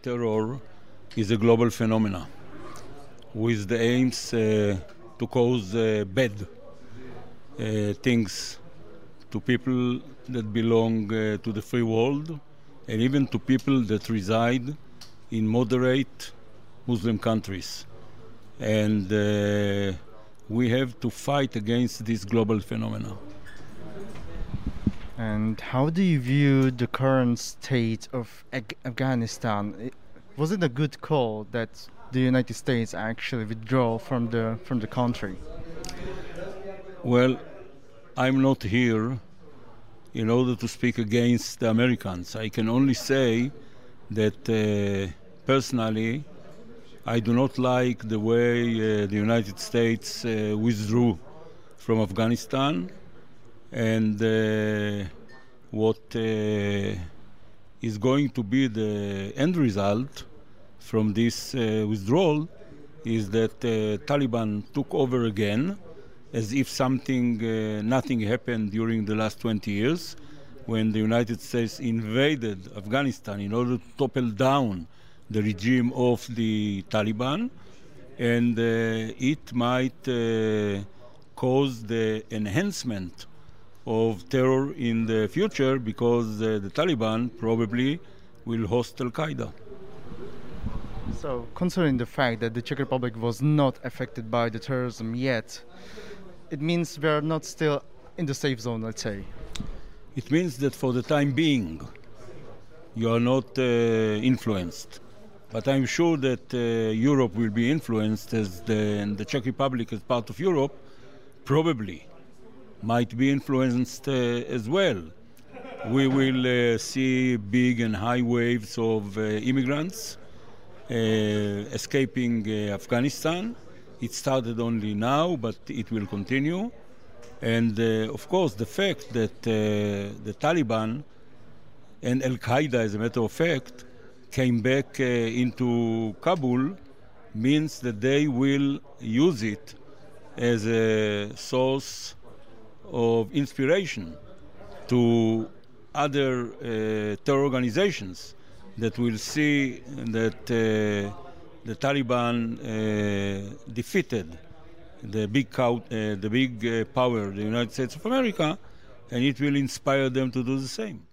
terror is a global phenomenon with the aims to cause bad things to people that belong to the free world and even to people that reside in moderate Muslim countries. And we have to fight against this global phenomenon. And how do you view the current state of Afghanistan? Was it a good call that the United States actually withdraw from the country? Well, I'm not here in order to speak against the Americans. I can only say that personally, I do not like the way the United States withdrew from Afghanistan, and what is going to be the end result from this withdrawal is that Taliban took over again, as if nothing happened during the last 20 years, when the United States invaded Afghanistan in order to topple down the regime of the Taliban, and it might cause the enhancement of terror in the future, because the Taliban probably will host Al-Qaeda. So, considering the fact that the Czech Republic was not affected by the terrorism yet, it means we are not still in the safe zone, let's say. It means that for the time being, you are not influenced. But I'm sure that Europe will be influenced, and the Czech Republic, as part of Europe, probably might be influenced as well. We will see big and high waves of immigrants escaping Afghanistan. It started only now, but it will continue. And of course, the fact that the Taliban and Al-Qaeda, as a matter of fact, came back into Kabul means that they will use it as a source of inspiration to other terror organizations that will see that the Taliban defeated the big power, the United States of America, and it will inspire them to do the same.